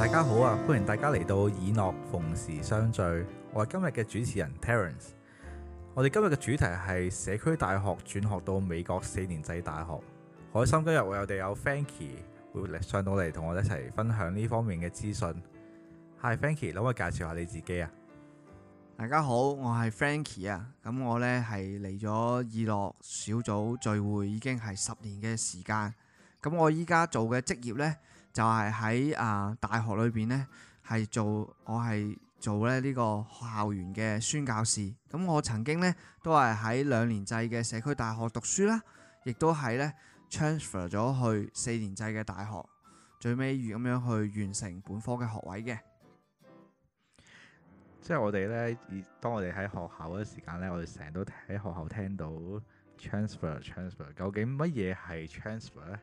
大家好啊！歡迎大家嚟到以諾逢時相聚。我係今日嘅主持人 Terence。我哋今日嘅主題係社區大學轉學到美國4年制大學。開心今日我哋有 Frankie 會上到嚟同我哋一齊分享呢方面嘅資訊。Hi Frankie，可唔可以介紹下你自己啊？ 大家好，我係 Frankie 啊。咁我呢係嚟咗以諾小組聚會已經係10年嘅時間。咁我依家做嘅職業呢，就係喺大學裏邊呢，我係做呢個校園嘅宣教士。咁我曾經呢，都係喺2年制嘅社區大學讀書啦，亦都係呢 transfer 咗去4年制嘅大學，最尾咁樣去完成本科嘅學位嘅。 即係我哋呢，當我哋喺學校嗰時間呢，我哋成日都喺學校聽到 transfer。究竟乜嘢係 transfer 呢？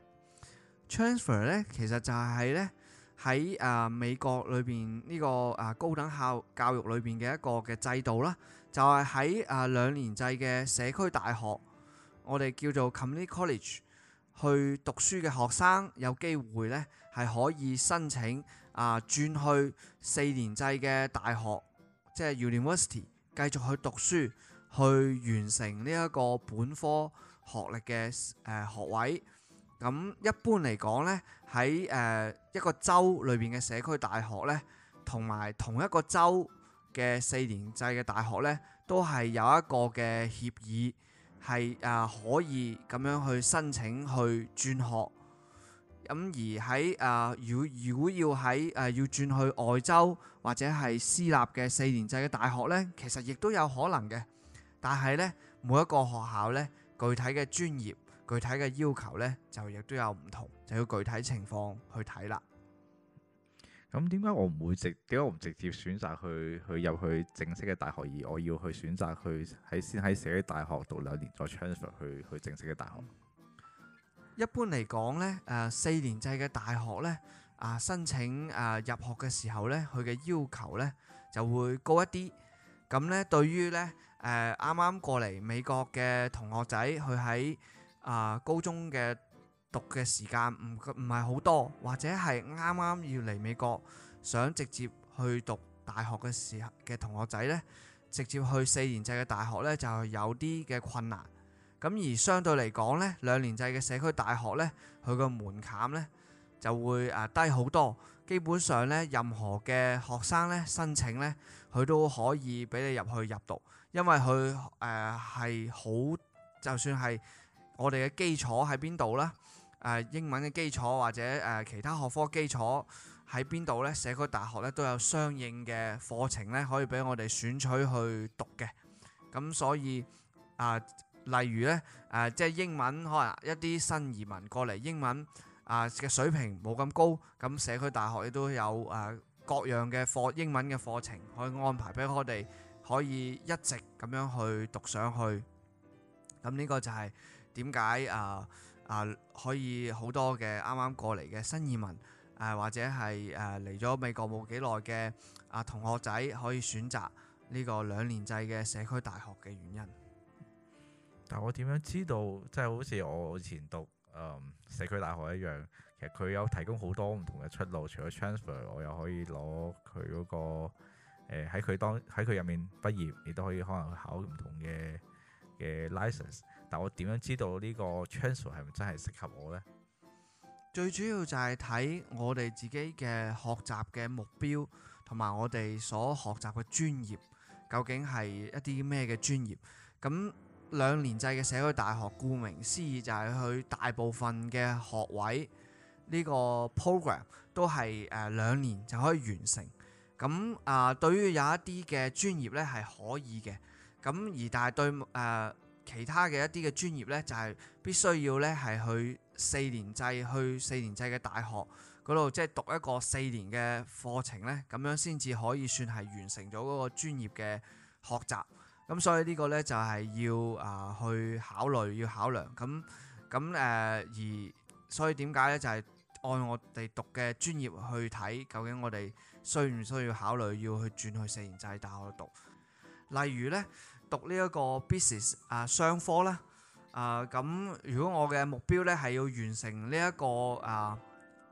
transfer 咧，其實就係咧喺美國裏邊呢個高等教育裏邊嘅一個嘅制度啦，就係喺2年制嘅社區大學，我哋叫做 community college 去讀書嘅學生有機會咧係可以申請轉去4年制嘅大學，即係 university 繼續去讀書，去完成呢一個本科學歷嘅學位。咁一般嚟講呢，喺一個州裏邊嘅社區大學呢，同埋同一個州嘅4年制嘅大學呢，都係有一個嘅協議，係可以咁樣去申請去轉學。咁而喺如果要喺要轉去外州或者係私立嘅4年制嘅大學呢，其實亦都有可能嘅。但係呢，每一個學校呢，具體嘅專業、具體嘅要求呢，就亦都有唔同，就要具體情況去睇啦。 咁點解我唔直接選擇去入去正式嘅大學，而我要去選擇去先喺社區大學讀2年，再 transfer 去正式嘅大學？ 一般嚟講呢，4年制嘅大學呢，申請入學嘅時候呢，佢嘅要求呢就會高一啲。咁呢，對於呢啱啱過嚟美國嘅同學仔，佢喺高中嘅讀嘅時間唔係好多，或者係啱啱要嚟美國想直接去讀大學嘅時候嘅同學仔呢，直接去4年制嘅大學呢，就有啲嘅困難。咁而相對嚟講呢，2年制嘅社區大學呢，佢個門檻呢就會低好多。基本上呢，任何嘅學生呢申請呢，佢都可以俾你入讀，因為佢係好，就算係我哋嘅基礎喺邊度啦，英文嘅基礎或者其他學科基礎喺邊度呢，社區大學呢都有相應嘅課程呢，可以俾我哋選取去讀嘅。咁所以例如呢，即係英文可能一啲新移民過嚟，英文嘅水平冇咁高，咁社區大學亦都有各樣嘅英文嘅課程可以安排俾我哋，可以一直咁樣去讀上去。咁呢個就係點解可以好多嘅啱啱過嚟嘅新移民或者係嚟咗美國冇幾耐嘅同學仔可以選擇呢個2年制嘅社區大學嘅原因。 但我點樣知道？即係好似我以前讀社區大學一樣，其實佢有提供好多唔同嘅出路。除咗 transfer，我又可以攞佢嗰個喺佢入面畢業，亦都可以可能考唔同嘅 license。但我點樣知道呢個 transfer 係咪真係適合我呢？ 最主要就係睇我哋自己嘅學習嘅目標，同埋我哋所學習嘅專業究竟係一啲咩嘅專業。咁2年制嘅社區大學，顧名思義就係佢大部分嘅學位呢個 program 都係2年就可以完成。咁對於有一啲嘅專業呢係可以嘅，咁但係對其他嘅一啲嘅專業呢，就係必須要呢係去4年制嘅大學嗰度，即係讀一個4年嘅課程呢，咁樣先至可以算係完成咗嗰個專業嘅學習。咁所以呢個呢，就係要去考慮，要考量。而所以點解呢？就係按我哋讀嘅專業去睇，究竟我哋需唔需要考慮要去轉去4年制大學讀？例如呢，讀呢一個 business 商科啦。咁如果我嘅目標呢係要完成呢一個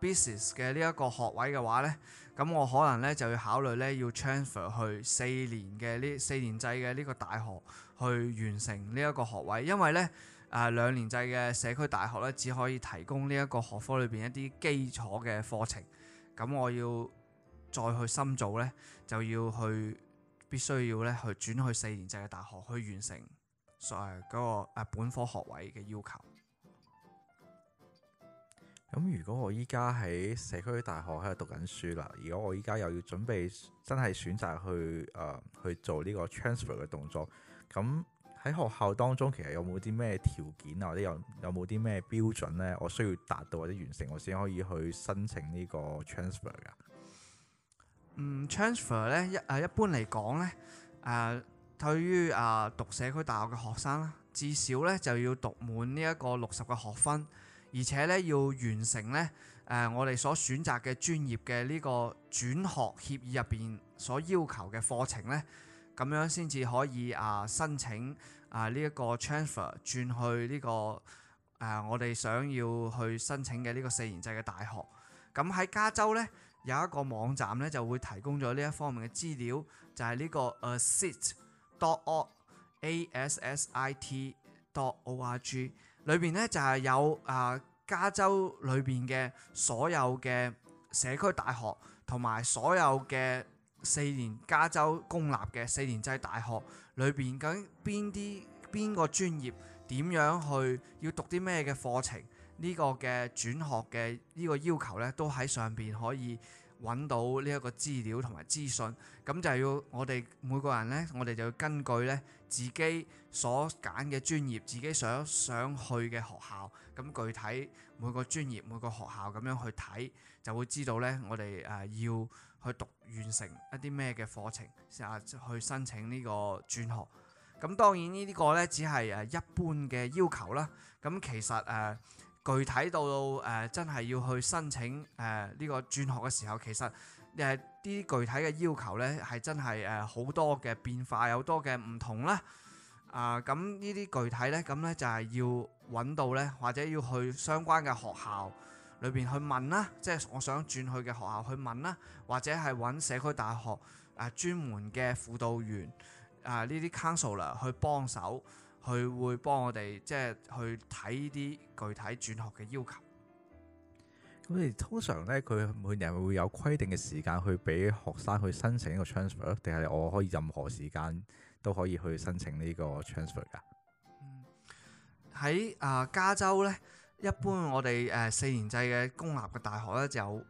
business 嘅呢一個學位嘅話呢，咁我可能呢就要考慮呢要 transfer 去4年制嘅呢個大學去完成呢一個學位，因為呢2年制嘅社區大學呢只可以提供呢一個學科裏邊一啲基礎嘅課程，咁我要再去深造呢，就必須要呢去轉去4年制嘅大學去完成嗰個本科學位嘅要求。 咁如果我依家喺社區大學喺度讀緊書啦，如果我依家又要準備真係選擇去做呢個 transfer 嘅動作，咁喺學校當中其實有冇啲咩條件啊，或者有冇啲咩標準呢？我需要達到或者完成，我先可以去申請呢個 transfer 噶。 transfer 咧一般嚟講咧，對於讀社區大學嘅學生啦，至少咧就要讀滿呢一個60個學分，而且咧要完成咧我哋所選擇嘅專業嘅呢個轉學協議入邊所要求嘅課程咧，咁樣先至可以申請呢一個 transfer 轉去呢個我哋想要去申請嘅呢個4年制嘅大學。咁喺加州咧有一個網站咧就會提供咗呢一方面嘅資料，就係呢個 ASSIT.org ASSIT.org 裏邊咧就係有加州裏邊嘅所有嘅社區大學同埋所有嘅4年加州公立嘅4年制大學裏邊究竟邊個專業點樣去要讀啲咩嘅課程，呢個嘅轉學嘅呢個要求呢，都喺上邊可以揾到呢一個資料同埋資訊。咁就要我哋每個人呢，我哋就要根據呢自己所揀嘅專業，自己想去嘅學校，咁具體每個專業每個學校咁樣去睇，就會知道呢我哋要去讀完成一啲咩嘅課程，去申請呢個轉學。咁當然呢個呢，只係一般嘅要求啦。咁其實具體到真係要去申請呢個轉學嘅時候，其實啲具體嘅要求呢係真係好多嘅變化，有好多嘅唔同啦。咁呢啲具體呢，咁呢就係要揾到呢，或者要去相關嘅學校裏邊去問啦，即係我想轉去嘅學校去問啦，或者係揾社區大學專門嘅輔導員呢啲 counselor 去幫手。佢會幫我哋即係去睇啲具體轉學嘅要求。 咁你通常咧，佢每年會有規定嘅時間去俾學生去申請呢個 transfer， 定係我可以任何時間都可以去申請呢個 transfer 㗎？ 喺加州咧，一般我哋4年制嘅公立嘅大學咧就有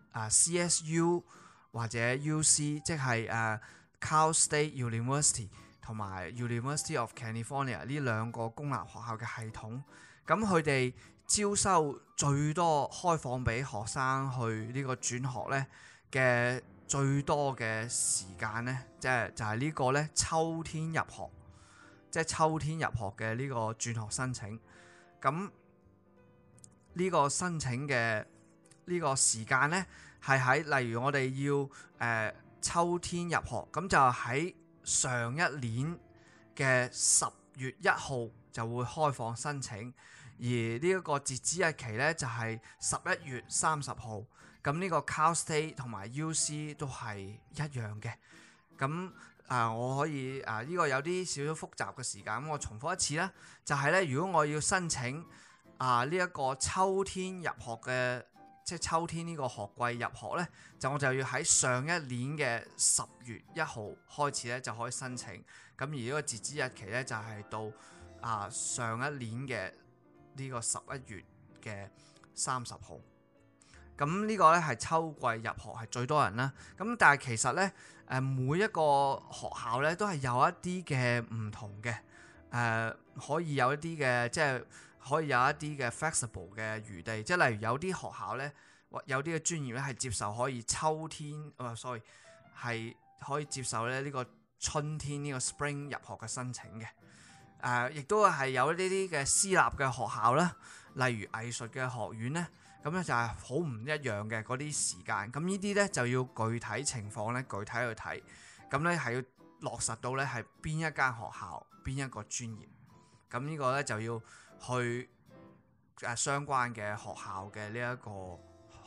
CSU 或者 UC， 即係Cal State University。同埋 University of California 呢兩個公立學校嘅系統，咁佢哋招收最多開放俾學生去呢個轉學呢嘅最多嘅時間呢，就係呢個呢秋天入學，即係秋天入學嘅呢個轉學申請。咁呢個申請嘅呢個時間呢，係喺例如我哋要秋天入學，咁就喺上一年嘅10月1號就會開放申請，而呢一個截止日期呢，就係11月30號。咁呢個 Cal State 同埋 UC 都係一樣嘅。咁我可以呢個有啲少少複雜嘅時間，咁我重複一次啦，就係呢：如果我要申請呢一個秋天入學嘅，即係秋天呢個學季入學呢，我就要喺上一年嘅10月1號開始呢就可以申請。咁而呢個截止日期呢，就係到上一年嘅呢個11月嘅30號。咁呢個呢係秋季入學係最多人啦。咁但係其實呢，每一個學校呢都係有一啲嘅唔同嘅，可以有一啲嘅即係。可以有一啲嘅 flexible 嘅餘地，即係例如有啲學校呢，有啲嘅專業呢係接受可以秋天係可以接受咧呢個春天呢個 spring 入學嘅申請嘅。亦都係有呢啲嘅私立嘅學校啦，例如藝術嘅學院呢，咁咧就係好唔一樣嘅嗰啲時間。咁呢啲呢，就要具體情況呢，具體去睇，咁呢係要落實到呢係邊一間學校邊一個專業。咁呢個呢，就要去相關嘅學校嘅呢一個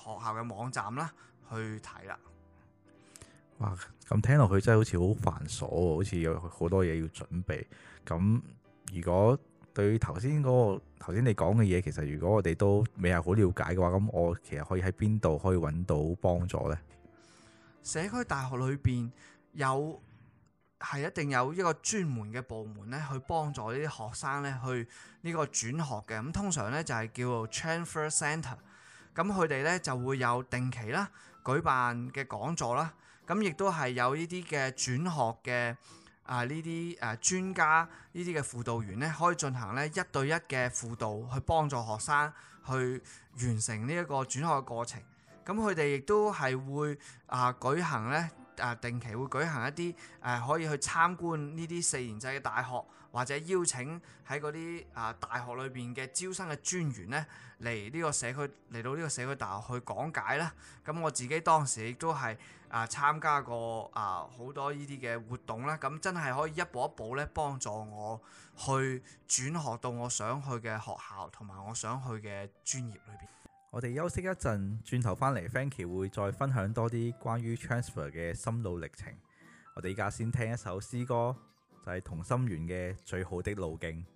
校嘅網站啦去睇啦。 哇！咁聽落去真係好似好繁瑣喎，好似有好多嘢要準備。咁如果對於頭先你講嘅嘢，其實如果我哋都未係好了解嘅話，咁我其實可以喺邊度可以揾到幫助呢？ 社區大學裏邊係一定有一個專門嘅部門咧，去幫助呢啲學生咧去呢個轉學嘅。咁通常咧就係叫做 transfer centre。咁佢哋咧就會有定期啦舉辦嘅講座啦。咁亦都係有呢啲嘅轉學嘅呢啲專家呢啲嘅輔導員咧，可以進行咧1對1嘅輔導，去幫助學生去完成呢一個轉學嘅過程。咁佢哋亦都係會舉行咧定期會舉行一啲可以去參觀呢啲4年制嘅大學，或者邀請喺嗰啲大學裏邊嘅招生嘅專員咧嚟到呢個社區大學去講解啦。咁我自己當時亦都係參加過好多呢啲嘅活動啦。咁真係可以一步一步咧幫助我去轉學到我想去嘅學校同埋我想去嘅專業裏邊。 我哋休息一陣，轉頭返嚟 Frankie 會再分享多啲關於 transfer 嘅心路歷程。我哋而家先聽一首詩歌，就係同心圓嘅最好的路徑。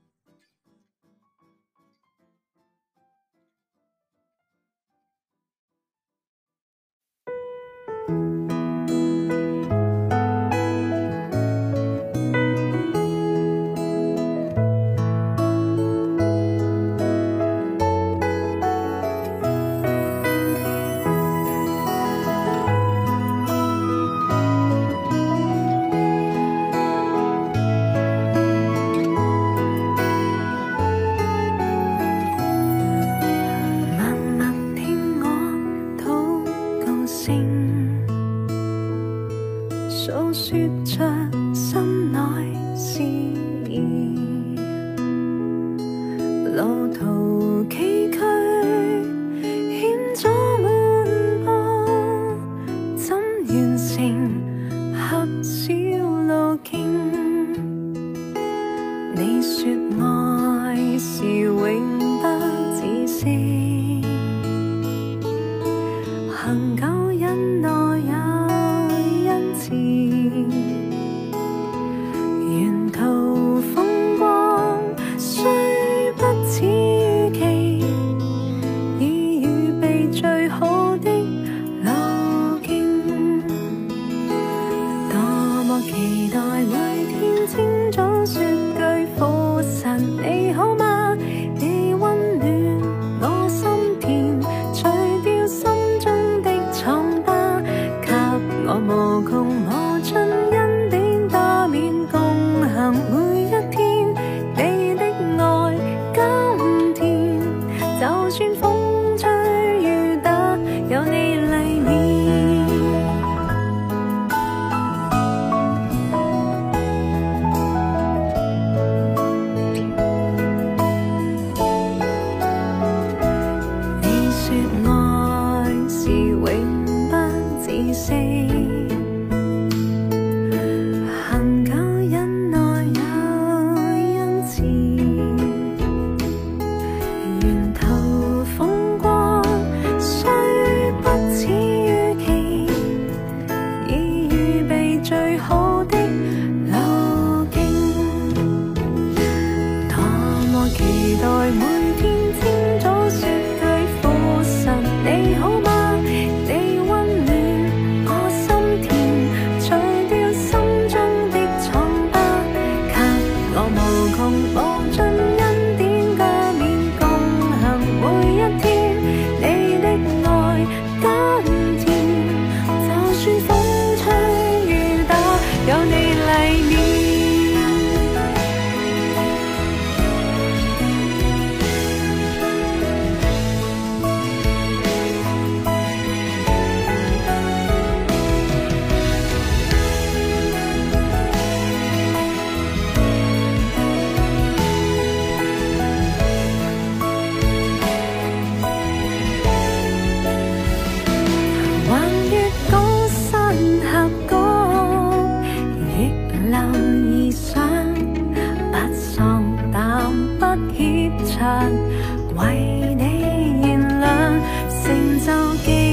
為你燃亮，成就記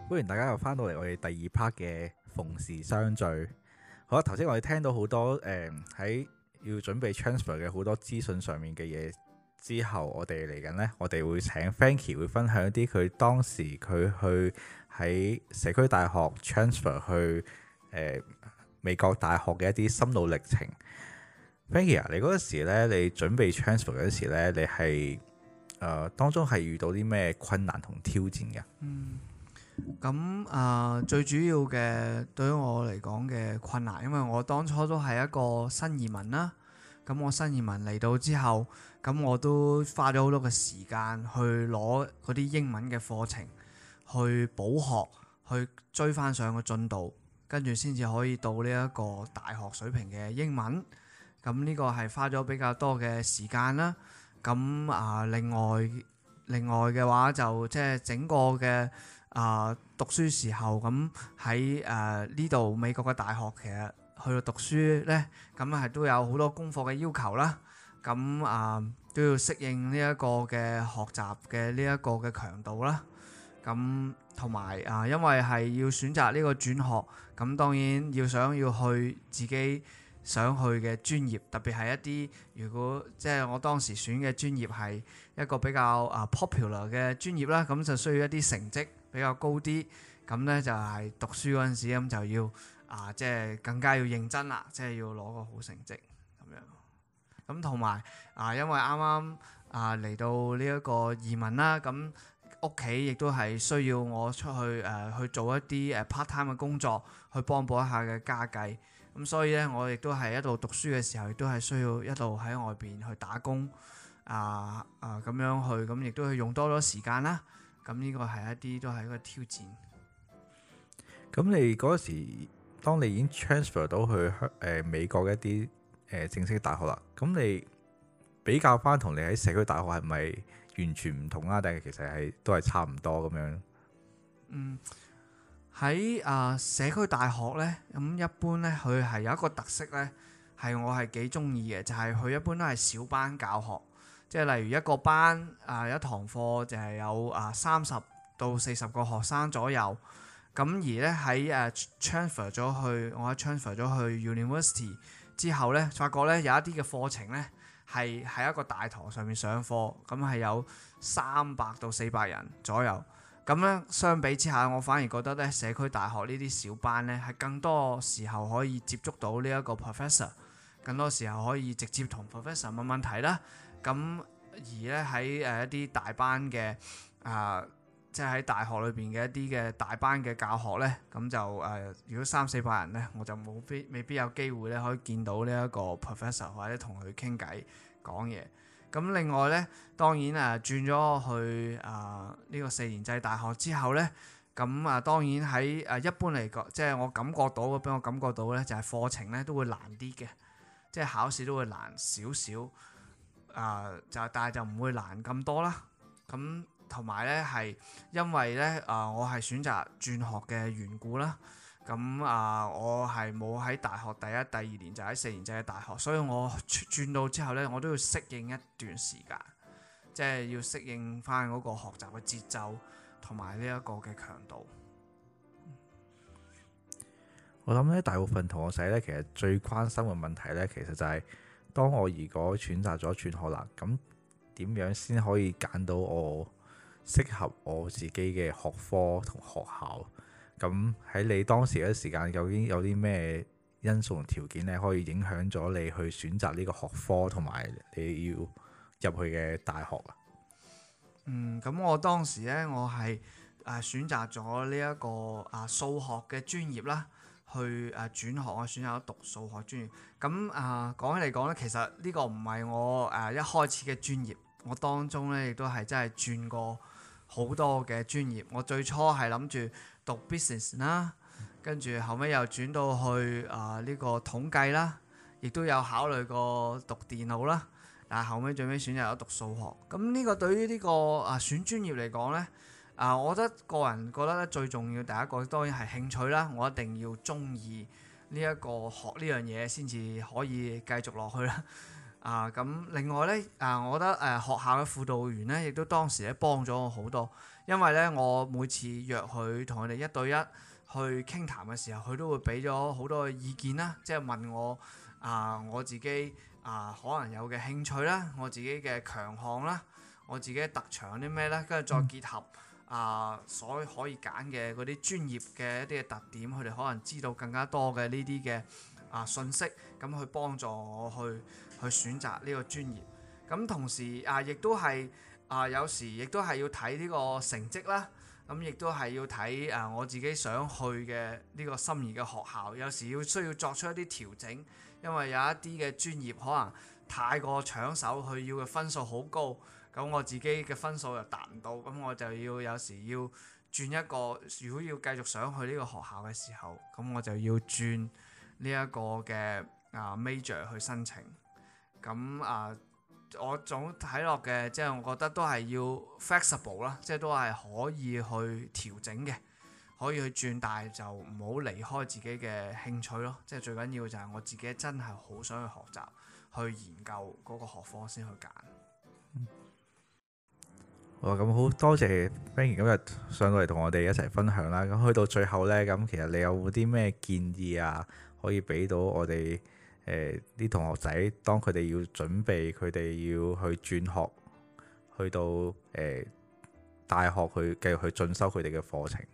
歡迎大家又翻到嚟我哋第二 part 嘅逢時相聚。好啦，頭先我哋聽到好多喺要準備 transfer 嘅好多資訊上面嘅嘢之後，我哋嚟緊呢，我哋會請 Frankie 會分享一啲佢當時佢去喺社區大學 transfer 去美國大學嘅一啲心路歷程。Frankie 啊，你嗰時呢，你準備 transfer 嗰時呢，你係當中係遇到啲咩困難同挑戰嘅？ 咁最主要嘅對於我嚟講嘅困難，因為我當初都係一個新移民啦。咁我新移民嚟到之後，咁我都花咗好多嘅時間去攞嗰啲英文嘅課程，去補學，去追翻上個進度，跟住先至可以到呢一個大學水平嘅英文。咁呢個係花咗比較多嘅時間啦。咁另外嘅話就即係整個嘅讀書時候，咁喺呢度美國嘅大學其實去到讀書呢，咁係都有好多功課嘅要求啦。咁都要適應呢一個嘅學習嘅呢一個嘅強度啦。咁同埋因為係要選擇呢個轉學，咁當然要去自己想去嘅專業，特別係一啲如果即係我當時選嘅專業係一個比較popular 嘅專業啦，咁就需要一啲成績比較高啲，咁呢就係讀書嗰陣時咁就要即係更加要認真啦，即係要攞個好成績咁樣。咁同埋因為啱啱嚟到呢一個移民啦，咁屋企亦都係需要我出去去做一啲part time 嘅工作，去幫補一下嘅家計。咁所以咧，我亦都係一路讀書嘅時候，亦都係需要一路喺外邊去打工咁樣去，咁亦都係用多咗時間啦。咁呢個係都係一個挑戰。 咁你嗰時，當你已經 transfer 到去美國嘅一啲正式大學啦，咁你比較翻同你喺社區大學係咪完全唔同啊？定係其實都係差唔多咁樣？ 喺社區大學呢，咁一般呢，佢係有一個特色呢，係我係幾中意嘅，就係佢一般都係小班教學，即係例如一個班一堂課就係有30到40個學生左右。咁而呢，喺transfer 咗去，我喺 transfer 咗去 University 之後呢，發覺呢有一啲嘅課程呢係喺一個大堂上面上課，咁係有300到400人左右。咁咧，相比之下，我反而覺得咧，社區大學呢啲小班咧，係更多時候可以接觸到呢一個 professor， 更多時候可以直接同 professor 問問題啦。咁而咧喺一啲大班嘅即係喺大學裏邊嘅一啲嘅大班嘅教學咧，咁就如果300-400人咧，我就未必有機會咧可以見到呢一個 professor 或者同佢傾偈講嘢。咁另外咧，當然轉咗去呢個4年制大學之後咧，咁當然喺一般嚟講，即係我感覺到，俾我感覺到咧，就係課程咧都會難啲嘅，即係考試都會難少少，但係就唔會難咁多啦。咁同埋咧係因為咧我係選擇轉學嘅緣故啦。咁我係冇喺大學第一、第2年就喺4年制嘅大學，所以我轉到之後呢，我都要適應一段時間，即係要適應翻嗰個學習嘅節奏同埋呢一個嘅強度。 我諗咧，大部分同學仔呢，其實最關心嘅問題呢，其實就係當我如果選擇咗轉學啦，咁點樣先可以揀到我適合我自己嘅學科同學校？咁喺你當時嘅時間，究竟有啲咩因素同條件咧，可以影響咗你去選擇呢個學科同埋你要入去嘅大學啊？ 咁我當時咧，我係選擇咗呢一個數學嘅專業啦，去轉學，我選擇咗讀數學專業。咁講起嚟講咧，其實呢個唔係我一開始嘅專業，我當中咧亦都係真係轉過好多嘅專業。我最初係諗住讀 business 啦，跟住後尾又轉到去呢個統計啦，亦都有考慮過讀電腦啦，但係後尾最尾選擇咗讀數學。咁呢個對於呢個選專業嚟講呢，我個人覺得咧最重要第一個當然係興趣啦，我一定要中意呢一個學呢樣嘢先至可以繼續落去啦。 咁另外咧我覺得學校嘅輔導員咧，亦都當時咧幫咗我好多，因為咧我每次約佢同佢哋一對一去傾談嘅時候，佢都會俾咗好多嘅意見啦，即係問我我自己可能有嘅興趣啦，我自己嘅強項啦，我自己嘅特長有啲咩咧，跟住再結合所可以揀嘅嗰啲專業嘅一啲嘅特點，佢哋可能知道更加多嘅呢啲嘅信息，咁去幫助我去選擇呢個專業。咁同時亦都係有時亦都係要睇呢個成績啦，咁亦都係要睇我自己想去嘅呢個心儀嘅學校，有時需要作出一啲調整，因為有一啲嘅專業可能太過搶手，佢要嘅分數好高，咁我自己嘅分數又達唔到，咁我就要有時要轉一個，如果要繼續想去呢個學校嘅時候，咁我就要轉呢一個嘅major 去申請。咁我總睇落嘅，即係我覺得都係要 flexible 啦，即係都係可以去調整嘅，可以去轉，但係就唔好離開自己嘅興趣咯。即係最緊要就係我自己真係好想去學習，去研究嗰個學科先去揀。 咁好多謝 Frankie 今日上到嚟同我哋一齊分享啦。咁去到最後呢，咁其實你有冇啲咩建議可以俾到我哋啲同學仔，當佢哋要準備，佢哋要去轉學，去到大學去繼續去進修佢哋嘅課程。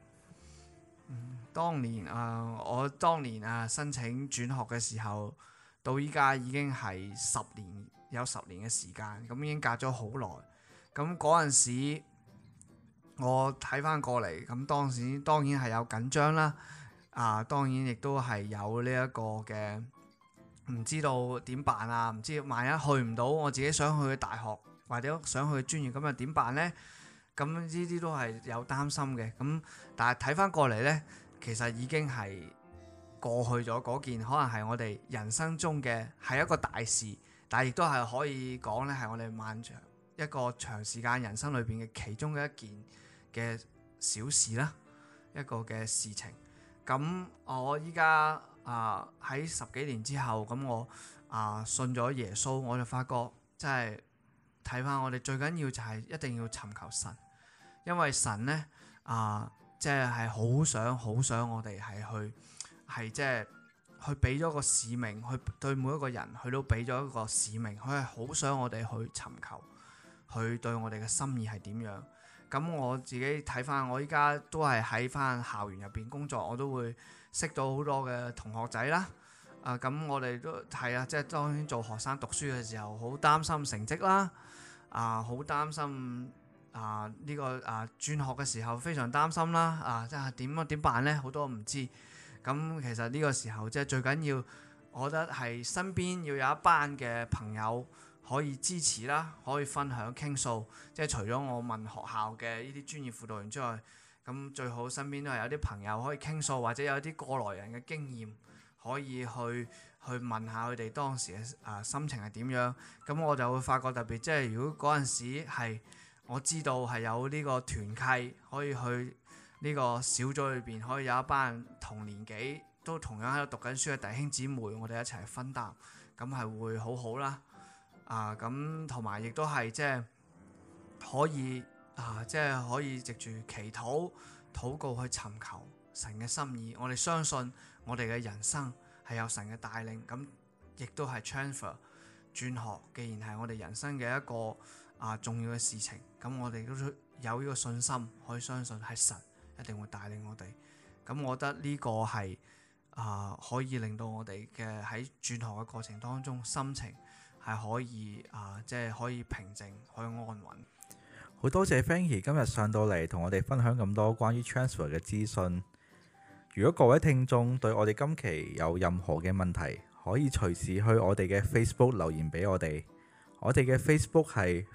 我當年申請轉學嘅時候，到依家已經係有10年嘅時間，咁已經隔咗好耐。咁嗰陣時，我睇翻過嚟，咁當然係有緊張啦。當然亦都係有呢一個嘅唔知道點辦唔知萬一去唔到我自己想去嘅大學或者想去嘅專業，咁又點辦呢？咁呢啲都係有擔心嘅。咁但係睇翻過嚟呢，其實已經係過去咗嗰件，可能係我哋人生中嘅係一個大事，但係亦都係可以講呢係我哋漫長一個長時間人生裏邊嘅其中嘅一件嘅小事啦，一個嘅事情。咁我依家喺10幾年之後，咁我信咗耶穌，我就發覺真係睇翻我哋最緊要就係一定要尋求神，因為神呢即係好想我哋係即係去俾咗個使命，去對每一個人佢都俾咗一個使命，佢係好想我哋去尋求佢對我哋嘅心意係點樣。咁我自己睇翻，我依家都係喺翻校園入邊工作，我都會識到好多嘅同學仔啦。咁我哋都係即係當然做學生讀書嘅時候，好擔心成績啦，好擔心呢個轉學嘅時候非常擔心啦。即係點辦呢？好多唔知。咁其實呢個時候即係最緊要，我覺得係身邊要有一班嘅朋友可以支持啦，可以分享傾訴。即係除咗我問學校嘅呢啲專業輔導員之外，咁最好身邊都係有啲朋友可以傾訴，或者有啲過來人嘅經驗可以去問下佢哋當時嘅心情係點樣。咁我就會發覺特別，即係如果嗰陣時係我知道係有呢個團契可以去呢個小組裏邊，可以有一班同年紀都同樣喺度讀緊書嘅弟兄姊妹，我哋一齊分擔，咁係會好好啦。咁同埋亦都係即係可以即係可以藉住祈禱禱告去尋求神嘅心意。我哋相信我哋嘅人生係有神嘅帶領，咁亦都係 transfer 轉學。既然係我哋人生嘅一個重要嘅事情，咁我哋都有呢個信心，可以相信係神一定會帶領我哋。咁我覺得呢個係可以令到我哋嘅喺轉學嘅過程當中心情係可以即係可以平靜，可以安穩。 好多謝 Frankie 今日上到嚟同我哋分享咁多關於 transfer 嘅資訊。如果各位聽眾對我哋今期有任何嘅問題，可以隨時去我哋嘅 Facebook 留言俾我哋。我哋嘅 Facebook 係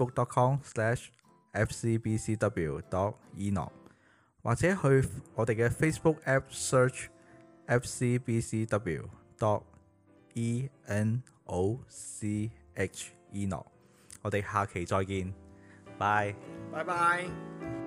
facebook.com/fcbcw.enoch， 或者去我哋嘅 Facebook App Search fcbcw.enoch。我哋下期再見，拜拜。